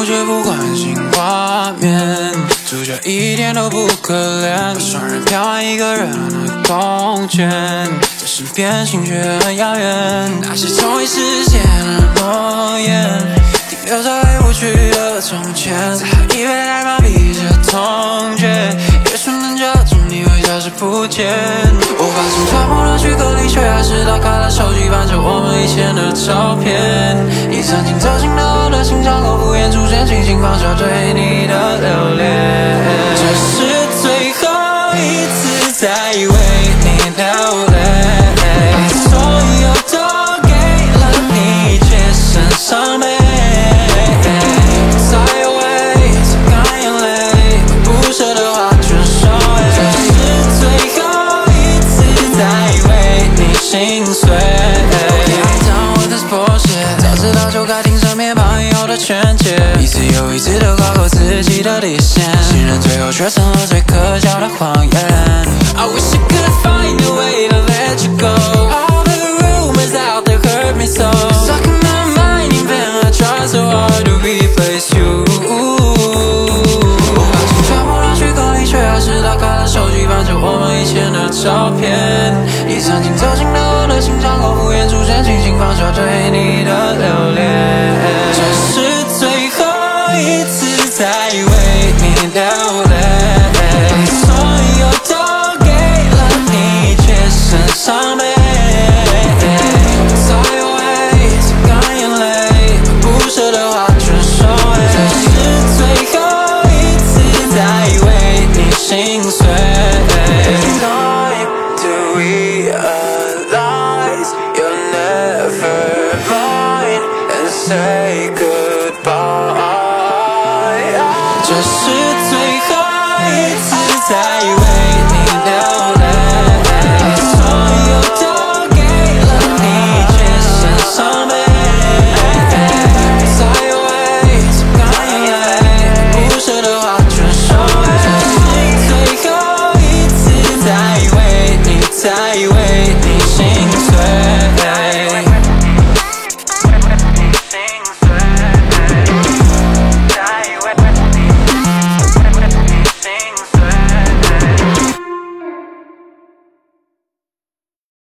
幕却不关心画面，主角一点都不可怜，双人飘换一个热闹的空间，在身边心却很遥远。那些从未实现的诺言，停留在过去的从前，再喝一杯来麻痹这痛觉，也许能叫住你会消失不见。无法从抓破的躯壳里，却还是打开了手机，翻着我们以前的照片。你曾经走进了我的心，像口敷衍出现，轻轻放下对你的留恋。这是最后一次再为你流泪，所有都给了你，却剩伤悲。再有为擦干眼泪，把不舍的话全收回。这是最后一次再为你心碎。早知道就该听身边朋友的劝诫，一次又一次的跨过自己的底线，信任最后却成了最可笑的谎言。I wish I could find a way to let you go. All the rumors out there hurt me so. Stuck in my mind, even I try so hard to replace you. 无法从抓破的躯壳里，却还是打开了手机，翻着我们以前的照片。你曾经走进了我的心，像口敷衍出现，轻轻放下对你的留恋。这是最后一次再为你流泪，所有都给了你，却剩伤悲。再有为擦干眼泪，把不舍的话全收回。这是最后一次再为你心碎。Time to realize you're never mine and say goodbye. 这是最后一次